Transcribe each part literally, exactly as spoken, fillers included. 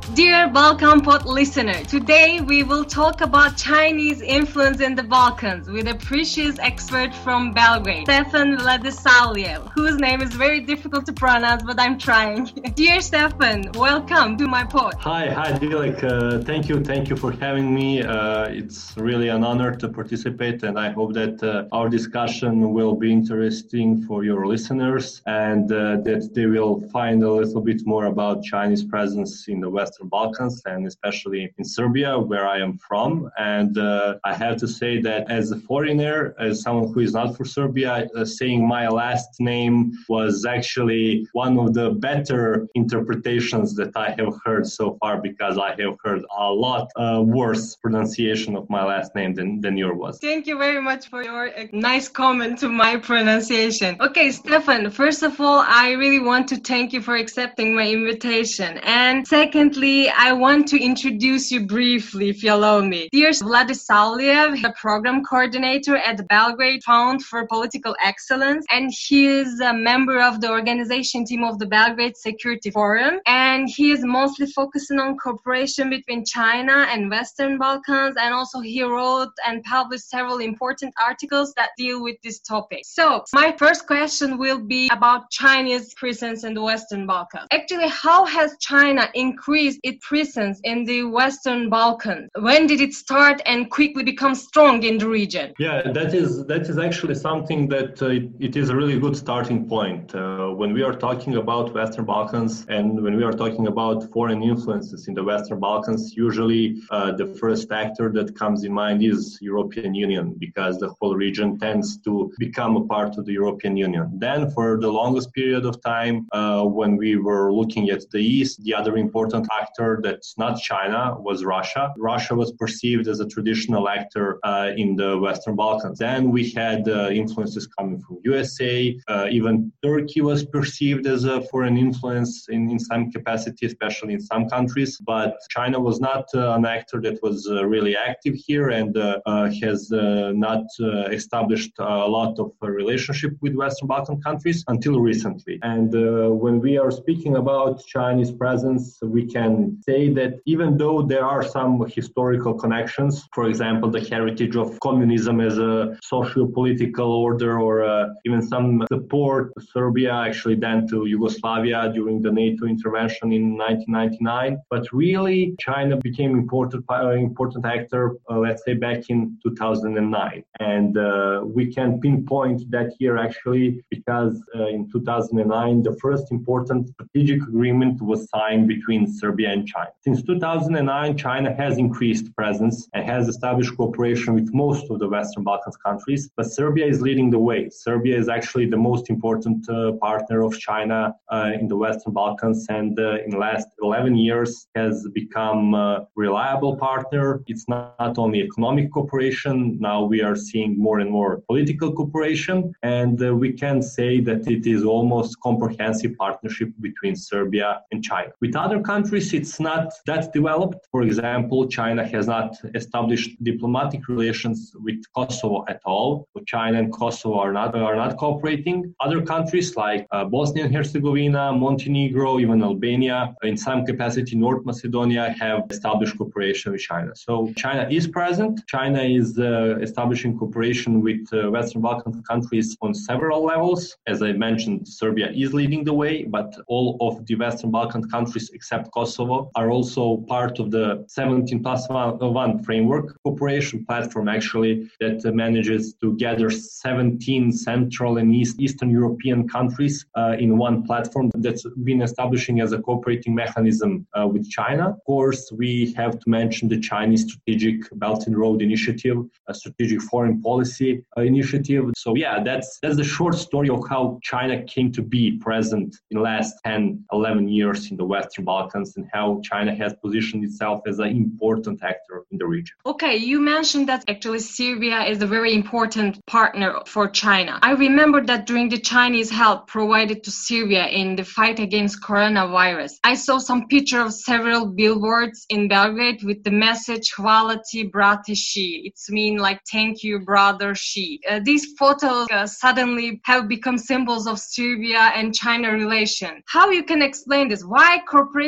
Dear Balkan Pod listener, today we will talk about Chinese influence in the Balkans with a precious expert from Belgrade, Stefan Vladisavljev, whose name is very difficult to pronounce, but I'm trying. Dear Stefan, welcome to my pod. Hi, hi Dilek. Uh, thank you, thank you for having me. Uh, it's really an honor to participate, and I hope that uh, our discussion will be interesting for your listeners and uh, that they will find a little bit more about Chinese presence in the Western Balkans and especially in Serbia, where I am from. And uh, I have to say that as a foreigner, as someone who is not from Serbia, uh, saying my last name was actually one of the better interpretations that I have heard so far, because I have heard a lot uh, worse pronunciation of my last name than, than yours was. Thank you very much for your uh, nice comment to my pronunciation. Okay, Stefan, first of all, I really want to thank you for accepting my invitation. And secondly, I want to introduce you briefly, if you allow me. Dear Vladisavljev, a program coordinator at the Belgrade Fund for Political Excellence, and he is a member of the organization team of the Belgrade Security Forum, and he is mostly focusing on cooperation between China and Western Balkans, and also he wrote and published several important articles that deal with this topic. So, my first question will be about Chinese presence in the Western Balkans. Actually, how has China increased its presence in the Western Balkans? When did it start and quickly become strong in the region? Yeah, that is that is actually something that uh, it, it is a really good starting point. Uh, when we are talking about Western Balkans and when we are talking about foreign influences in the Western Balkans, usually uh, the first actor that comes in mind is European Union, because the whole region tends to become a part of the European Union. Then for the longest period of time, uh, when we were looking at the East, the other important actor that's not China was Russia. Russia was perceived as a traditional actor uh, in the Western Balkans. Then we had uh, influences coming from U S A. Uh, even Turkey was perceived as a foreign influence in, in some capacity, especially in some countries. But China was not uh, an actor that was uh, really active here and uh, uh, has uh, not uh, established a lot of a relationship with Western Balkan countries until recently. And uh, when we are speaking about Chinese presence, we can say that even though there are some historical connections, for example, the heritage of communism as a socio-political order, or uh, even some support to Serbia, actually then to Yugoslavia during the NATO intervention in nineteen ninety-nine. But really, China became important uh, important actor, uh, let's say, back in two thousand nine. And uh, we can pinpoint that here actually because uh, in two thousand nine, the first important strategic agreement was signed between Serbia and China. Since two thousand nine, China has increased presence and has established cooperation with most of the Western Balkans countries, but Serbia is leading the way. Serbia is actually the most important uh, partner of China uh, in the Western Balkans, and uh, in the last eleven years has become a reliable partner. It's not, not only economic cooperation, now we are seeing more and more political cooperation, and uh, we can say that it is almost comprehensive partnership between Serbia and China. With other countries, it's not that developed. For example, China has not established diplomatic relations with Kosovo at all. So China and Kosovo are not are not cooperating. Other countries like uh, Bosnia and Herzegovina, Montenegro, even Albania, in some capacity North Macedonia, have established cooperation with China. So China is present. China is uh, establishing cooperation with uh, Western Balkan countries on several levels. As I mentioned, Serbia is leading the way, but all of the Western Balkan countries except Kosovo are also part of the seventeen plus one framework cooperation platform, actually, that uh, manages to gather seventeen Central and East, Eastern European countries uh, in one platform that's been establishing as a cooperating mechanism uh, with China. Of course, we have to mention the Chinese Strategic Belt and Road Initiative, a strategic foreign policy uh, initiative. So yeah, that's that's the short story of how China came to be present in the last ten, eleven years in the Western Balkans, and how China has positioned itself as an important actor in the region. Okay, you mentioned that actually Serbia is a very important partner for China. I remember that during the Chinese help provided to Serbia in the fight against coronavirus, I saw some picture of several billboards in Belgrade with the message "Hvala ti, brate Xi." It's mean like "Thank you, brother Xi." Uh, these photos uh, suddenly have become symbols of Serbia and China relation. How you can explain this? Why cooperation with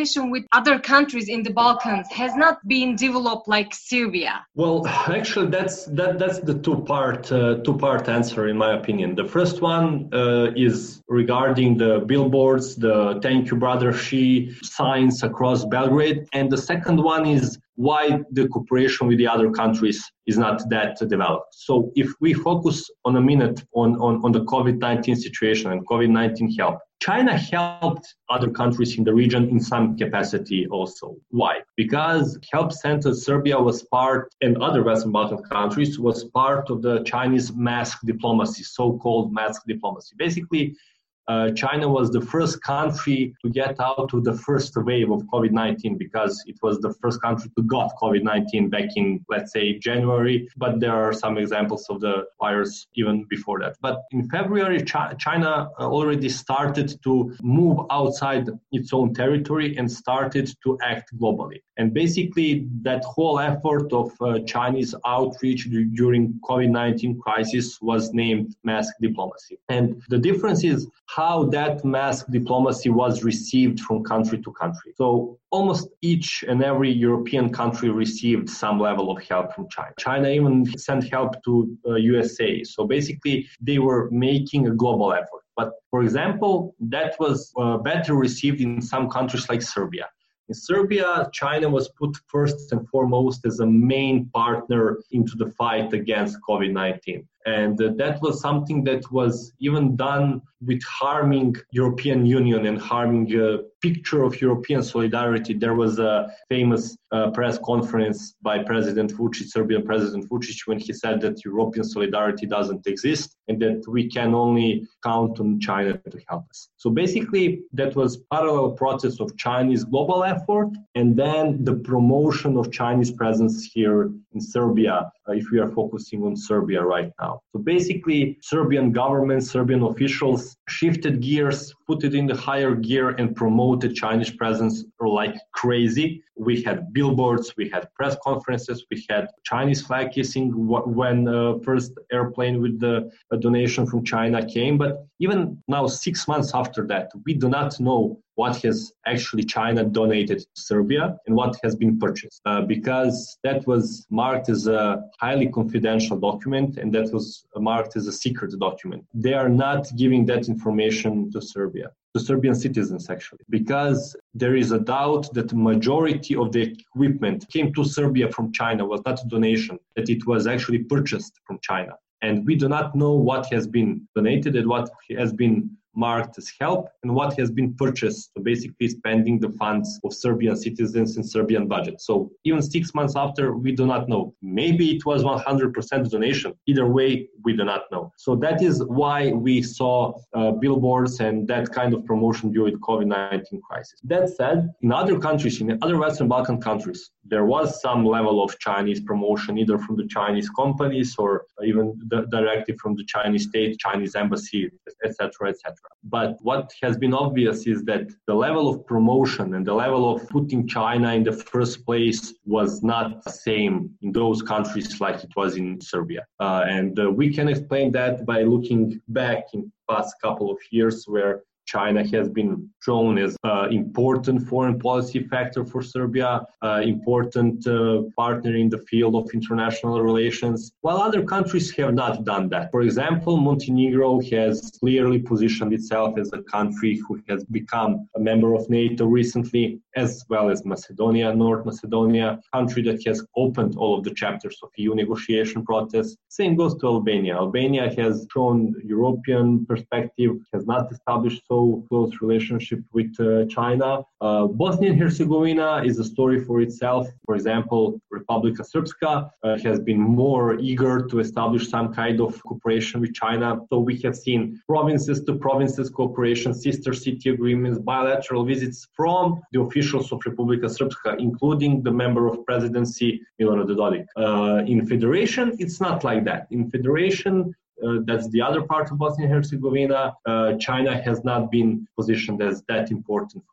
other countries in the Balkans has not been developed like Serbia? Well, actually, that's that that's the two part uh, two part answer in my opinion. The first one uh, is regarding the billboards, the "Thank you, brother Xi" signs across Belgrade, and the second one is why the cooperation with the other countries is not that developed. So if we focus on a minute on, on, on the COVID nineteen situation and COVID nineteen help, China helped other countries in the region in some capacity also. Why? Because Help Center Serbia was part, and other Western Balkan countries, was part of the Chinese mask diplomacy, so-called mask diplomacy. Basically, Uh, China was the first country to get out of the first wave of COVID nineteen because it was the first country to got COVID nineteen back in, let's say, January. But there are some examples of the virus even before that. But in February, Ch- China already started to move outside its own territory and started to act globally. And basically, that whole effort of uh, Chinese outreach d- during COVID nineteen crisis was named mask diplomacy. And the difference is how that mask diplomacy was received from country to country. So almost each and every European country received some level of help from China. China even sent help to uh, U S A. So basically, they were making a global effort. But for example, that was uh, better received in some countries like Serbia. In Serbia, China was put first and foremost as a main partner into the fight against COVID nineteen. And uh, that was something that was even done with harming European Union and harming a picture of European solidarity. There was a famous uh, press conference by President Vučić, Serbian President Vučić, when he said that European solidarity doesn't exist and that we can only count on China to help us. So basically, that was parallel process of Chinese global effort and then the promotion of Chinese presence here in Serbia, uh, if we are focusing on Serbia right now. So basically, Serbian government, Serbian officials shifted gears, put it in the higher gear and promoted Chinese presence like crazy. We had billboards, we had press conferences, we had Chinese flag kissing when uh, first airplane with the uh, donation from China came. But even now, six months after that, we do not know what has actually China donated to Serbia and what has been purchased, uh, because that was marked as a highly confidential document and that was marked as a secret document. They are not giving that information to Serbia, to Serbian citizens actually, because there is a doubt that the majority of the equipment came to Serbia from China, was not a donation, that it was actually purchased from China. And we do not know what has been donated and what has been marked as help and what has been purchased, so basically spending the funds of Serbian citizens in Serbian budget. So even six months after, we do not know. Maybe it was one hundred percent donation. Either way, we do not know. So that is why we saw uh, billboards and that kind of promotion during the COVID nineteen crisis. That said, in other countries, in other Western Balkan countries, there was some level of Chinese promotion, either from the Chinese companies or even the, directly from the Chinese state, Chinese embassy, et cetera, et cetera. But what has been obvious is that the level of promotion and the level of putting China in the first place was not the same in those countries like it was in Serbia. Uh, and uh, we can explain that by looking back in past couple of years where China has been shown as an important foreign policy factor for Serbia, uh, important uh, partner in the field of international relations, while other countries have not done that. For example, Montenegro has clearly positioned itself as a country who has become a member of NATO recently, as well as Macedonia, North Macedonia, a country that has opened all of the chapters of E U negotiation process. Same goes to Albania. Albania has shown European perspective, has not established so close relationship with uh, China. Uh, Bosnia and Herzegovina is a story for itself. For example, Republika Srpska uh, has been more eager to establish some kind of cooperation with China. So we have seen provinces to provinces cooperation, sister city agreements, bilateral visits from the officials of Republika Srpska, including the member of presidency, Milorad Dodik. Uh, in federation, it's not like that. In federation, Uh, that's the other part of Bosnia and Herzegovina. Uh, China has not been positioned as that important foreign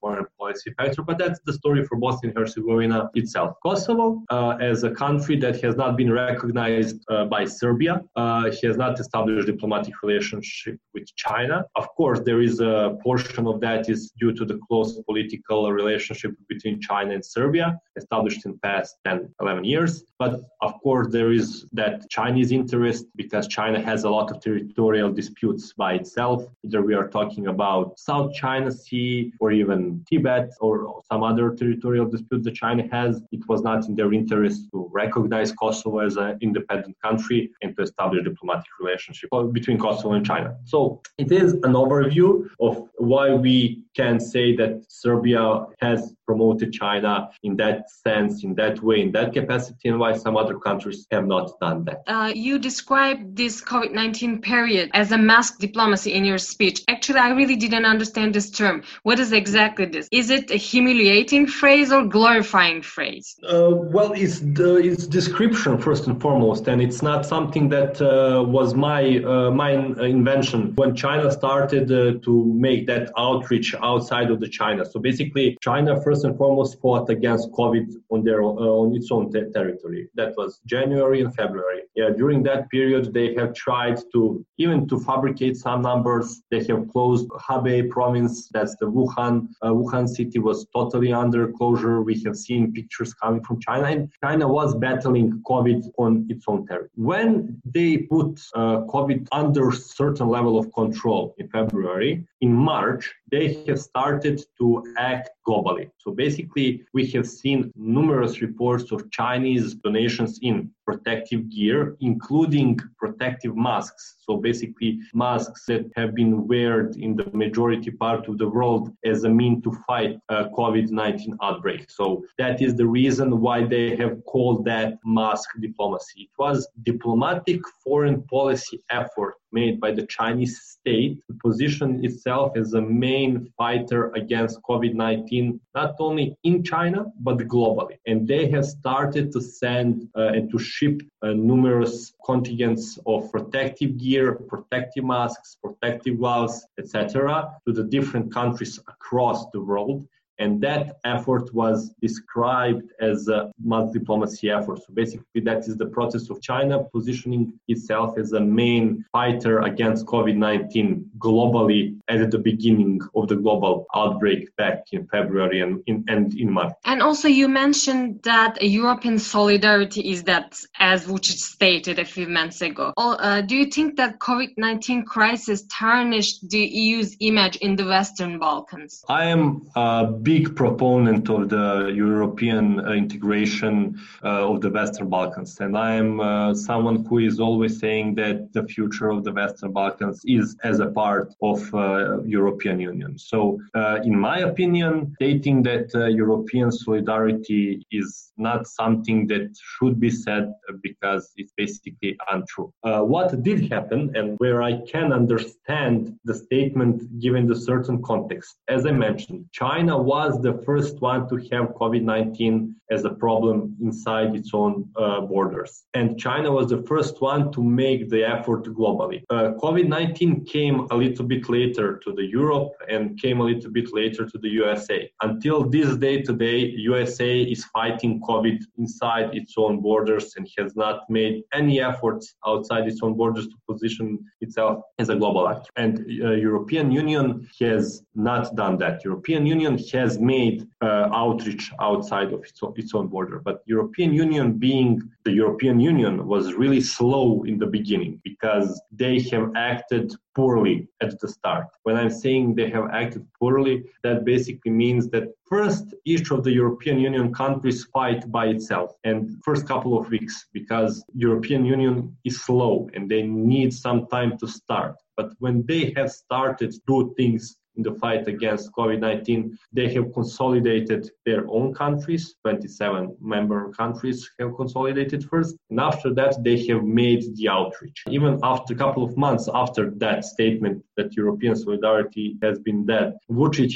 policy factor, but that's the story for Bosnia and Herzegovina itself. Kosovo, uh, as a country that has not been recognized uh, by Serbia, uh, has not established diplomatic relationship with China. Of course, there is a portion of that is due to the close political relationship between China and Serbia, established in the past ten, eleven years. But of course, there is that Chinese interest because China has a lot of territorial disputes by itself. Either we are talking about South China Sea or even Tibet or some other territorial dispute that China has. It was not in their interest to recognize Kosovo as an independent country and to establish diplomatic relationship between Kosovo and China. So it is an overview of why we can say that Serbia has promoted China in that sense, in that way, in that capacity, and why some other countries have not done that. Uh, you described this COVID nineteen period as a mask diplomacy in your speech. Actually, I really didn't understand this term. What is exactly this? Is it a humiliating phrase or glorifying phrase? Uh, well, it's the it's description first and foremost, and it's not something that uh, was my uh, my invention. When China started uh, to make that outreach outside of the China, so basically, China first and foremost fought against COVID on their uh, on its own te- territory. That was January and February. Yeah, during that period, they have tried to even to fabricate some numbers. They have closed Hebei province. That's the Wuhan. Uh, Wuhan city was totally under closure. We have seen pictures coming from China, and China was battling COVID on its own territory. When they put uh, COVID under certain level of control in February, in March, they have started to act globally. So basically, we have seen numerous reports of Chinese donations in protective gear, including protective masks. So basically, masks that have been worn in the majority part of the world as a mean to fight uh, COVID nineteen outbreak. So that is the reason why they have called that mask diplomacy. It was diplomatic foreign policy effort made by the Chinese state to position itself as a main fighter against COVID nineteen, not only in China, but globally. And they have started to send uh, and to ship uh, numerous contingents of protective gear, protective masks, protective gloves, et cetera, to the different countries across the world. And that effort was described as a mass diplomacy effort. So basically, that is the process of China positioning itself as a main fighter against COVID nineteen globally at the beginning of the global outbreak back in February and in, and in March. And also you mentioned that European solidarity is that, as Vučić stated a few months ago. Uh, do you think that COVID nineteen crisis tarnished the E U's image in the Western Balkans? I am uh, big proponent of the European uh, integration uh, of the Western Balkans. And I am uh, someone who is always saying that the future of the Western Balkans is as a part of uh, European Union. So uh, in my opinion, stating that uh, European solidarity is not something that should be said because it's basically untrue. Uh, what did happen, and where I can understand the statement given the certain context, as I mentioned, China was was the first one to have COVID nineteen as a problem inside its own uh, borders. And China was the first one to make the effort globally. Uh, COVID nineteen came a little bit later to the Europe and came a little bit later to the U S A. Until this day today, U S A is fighting COVID inside its own borders and has not made any efforts outside its own borders to position itself as a global actor. And uh, European Union has not done that. European Union has made uh, outreach outside of its own, its own border. But European Union, being the European Union, was really slow in the beginning because they have acted poorly at the start. When I'm saying they have acted poorly, that basically means that first, each of the European Union countries fight by itself, and first couple of weeks, because European Union is slow and they need some time to start. But when they have started to do things in the fight against COVID nineteen, they have consolidated their own countries. twenty-seven member countries have consolidated first. And after that, they have made the outreach. Even after a couple of months after that statement that European solidarity has been dead, Vučić has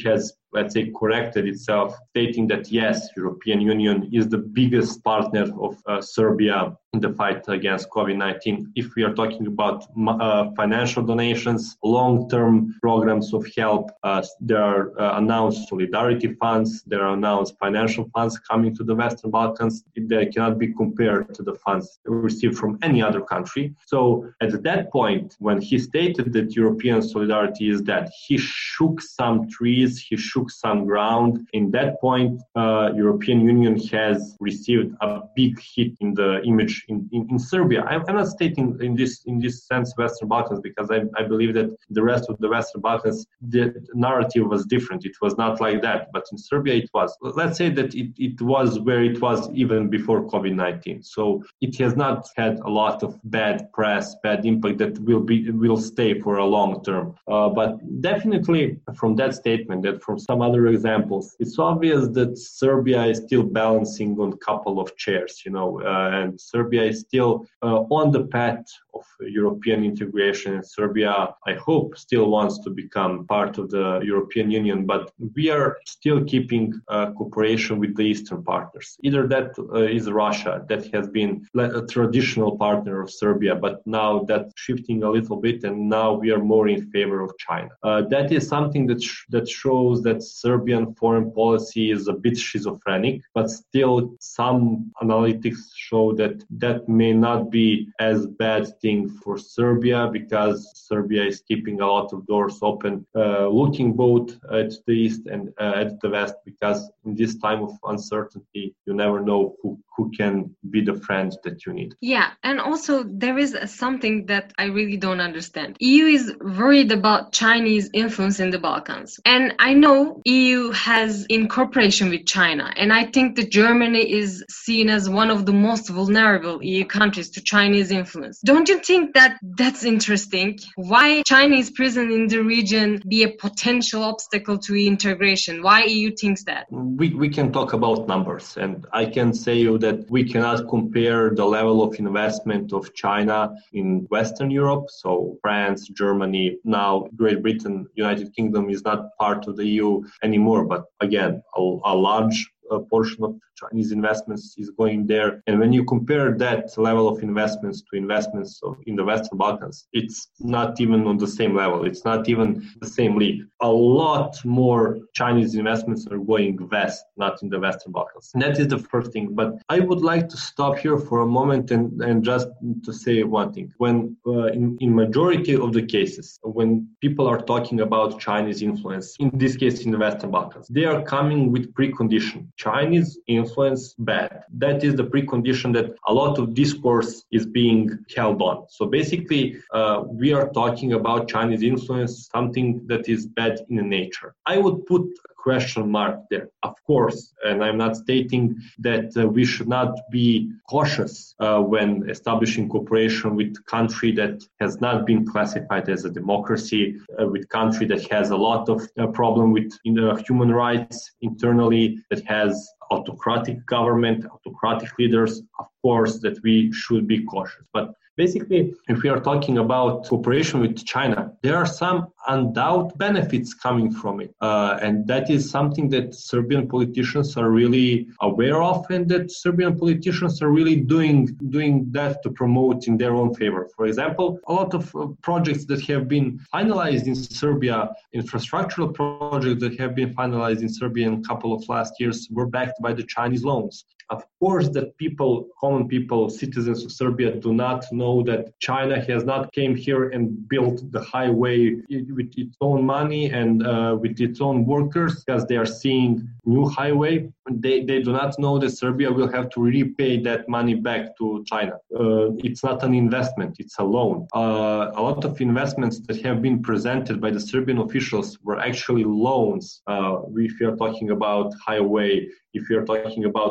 let's say, corrected itself, stating that yes, European Union is the biggest partner of uh, Serbia in the fight against COVID nineteen. If we are talking about uh, financial donations, long-term programs of help, uh, there are uh, announced solidarity funds, there are announced financial funds coming to the Western Balkans. They cannot be compared to the funds received from any other country. So at that point, when he stated that European solidarity is that, he shook some trees, he shook some ground. In that point, uh, European Union has received a big hit in the image In, in, in Serbia. I'm, I'm not stating in this in this sense Western Balkans, because I, I believe that the rest of the Western Balkans, the narrative was different. It was not like that. But in Serbia it was. Let's say that it, it was where it was even before COVID nineteen. So it has not had a lot of bad press, bad impact that will be will stay for a long term. Uh, but definitely from that statement, that from some other examples, it's obvious that Serbia is still balancing on a couple of chairs, you know, uh, and Serbia Serbia is still uh, on the path of European integration. And Serbia, I hope, still wants to become part of the European Union, but we are still keeping uh, cooperation with the Eastern partners. Either that uh, is Russia, that has been a traditional partner of Serbia, but now that's shifting a little bit, and now we are more in favor of China. Uh, that is something that sh- that shows that Serbian foreign policy is a bit schizophrenic, but still some analytics show that that may not be as bad thing for Serbia, because Serbia is keeping a lot of doors open, uh, looking both at the east and uh, at the west, because in this time of uncertainty, you never know who, who can be the friend that you need. Yeah, and also there is something that I really don't understand. E U is worried about Chinese influence in the Balkans. And I know E U has in cooperation with China, and I think that Germany is seen as one of the most vulnerable E U countries to Chinese influence. Don't you think that that's interesting? Why Chinese presence in the region be a potential obstacle to integration? Why E U thinks that? We, we can talk about numbers, and I can say you that we cannot compare the level of investment of China in Western Europe, so France, Germany, now Great Britain, United Kingdom is not part of the E U anymore, but again, a, a large a portion of Chinese investments is going there. And when you compare that level of investments to investments of, in the Western Balkans, it's not even on the same level. It's not even the same league. A lot more Chinese investments are going west, not in the Western Balkans. And that is the first thing. But I would like to stop here for a moment and, and just to say one thing. When uh, in, in majority of the cases, when people are talking about Chinese influence, in this case in the Western Balkans, they are coming with precondition. Chinese influence bad. That is the precondition that a lot of discourse is being held on. So basically, uh, we are talking about Chinese influence, something that is bad in nature. I would put a question mark there, of course, and I'm not stating that uh, we should not be cautious uh, when establishing cooperation with country that has not been classified as a democracy, uh, with country that has a lot of uh, problem with in the human rights internally, that has autocratic government, autocratic leaders. Of course, that we should be cautious. But basically, if we are talking about cooperation with China, there are some undoubted benefits coming from it. Uh, and that is something that Serbian politicians are really aware of, and that Serbian politicians are really doing, doing that to promote in their own favor. For example, a lot of uh, projects that have been finalized in Serbia, infrastructural projects that have been finalized in Serbia in a couple of last years, were backed by the Chinese loans. Of course, that people, common people, citizens of Serbia do not know that China has not came here and built the highway with its own money and uh, with its own workers, because they are seeing new highway. They, they do not know that Serbia will have to repay that money back to China. Uh, it's not an investment, it's a loan. Uh, a lot of investments that have been presented by the Serbian officials were actually loans. Uh, if you're talking about highway, if you're talking about Belgrade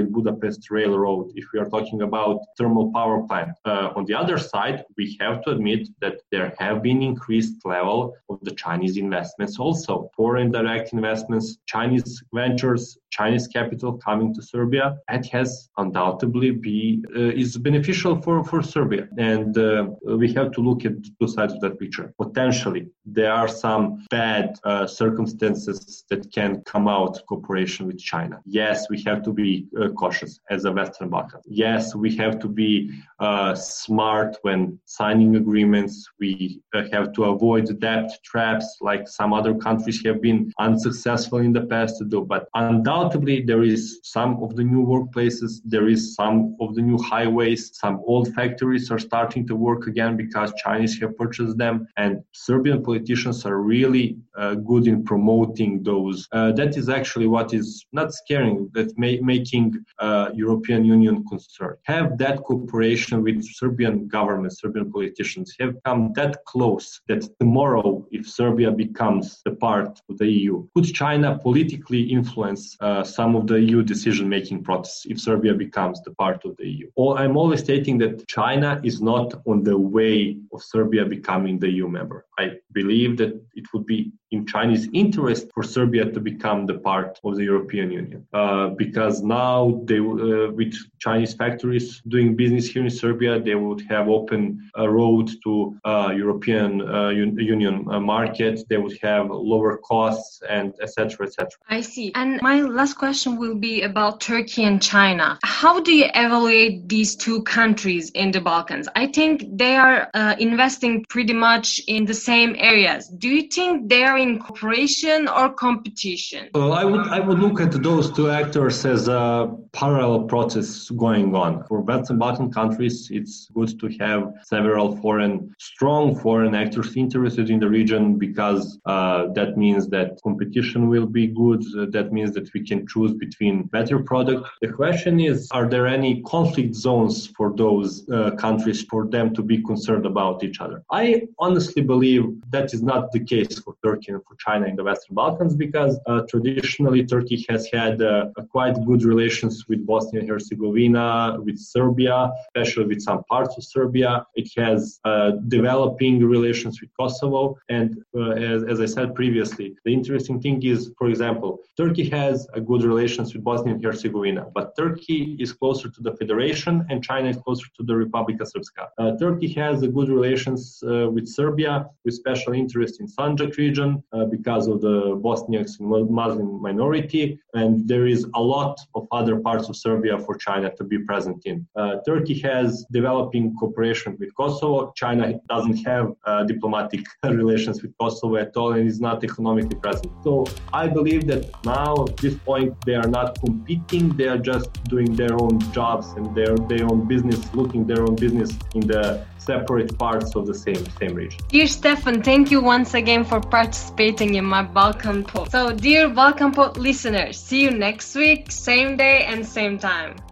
Belgrade-Budapest Railroad, if we are talking about thermal power plant. Uh, on the other side, we have to admit that there have been increased level of the Chinese investments also. Foreign direct investments, Chinese ventures, Chinese capital coming to Serbia, that has undoubtedly be uh, is beneficial for, for Serbia. And uh, we have to look at two sides of that picture. Potentially, there are some bad uh, circumstances that can come out of cooperation with China. Yes, we have to be uh, cautious as a Western Balkan. Yes, we have to be uh, smart when signing agreements. We uh, have to avoid debt traps like some other countries have been unsuccessful in the past to do. But undoubtedly, there is some of the new workplaces, there is some of the new highways, some old factories are starting to work again because Chinese have purchased them, and Serbian politicians are really uh, good in promoting those. Uh, that is actually what is not scaring, that's ma- making uh, European Union concerned. Have that cooperation with Serbian government, Serbian politicians have come that close that tomorrow, if Serbia becomes a part of the E U, could China politically influence uh, some of the E U decision-making process if Serbia becomes the part of the E U? Or I'm always stating that China is not on the way of Serbia becoming the E U member. I believe that it would be in Chinese interest for Serbia to become the part of the European Union, uh, because now they, uh, with Chinese factories doing business here in Serbia, they would have open a road to uh, European uh, un- Union uh, market. They would have lower costs and et cetera, et cetera. I see. And my last question will be about Turkey and China. How do you evaluate these two countries in the Balkans? I think they are uh, investing pretty much in the same areas. Do you think they are in cooperation or competition? Well, I would I would look at those two actors as a parallel process going on. For Western Balkan countries, it's good to have several foreign, strong foreign actors interested in the region because uh, that means that competition will be good. Uh, that means that we can choose between better product. The question is, are there any conflict zones for those uh, countries for them to be concerned about each other? I honestly believe that is not the case for Turkey and for China in the Western Balkans because uh, traditionally Turkey has had uh, a quite good relations with Bosnia and Herzegovina, with Serbia, especially with some parts of Serbia. It has uh, developing relations with Kosovo. And uh, as, as I said previously, the interesting thing is, for example, Turkey has a good relations with Bosnia and Herzegovina, but Turkey is closer to the Federation and China is closer to the Republika Srpska. Uh, Turkey has a good relations uh, with Serbia, with special interest in Sanjak region uh, because of the Bosniaks and Muslim minority, and there is a lot of other parts of Serbia for China to be present in. Uh, Turkey has developing cooperation with Kosovo. China doesn't have uh, diplomatic relations with Kosovo at all and is not economically present. So I believe that now at this point they are not competing, they are just doing their own jobs and their, their own business, looking their own business in the separate parts of the same same region. Dear Stefan, thank you once again for participating in my Balkan Pod. So dear Balkan Pod listeners, see you next week, same day and same time.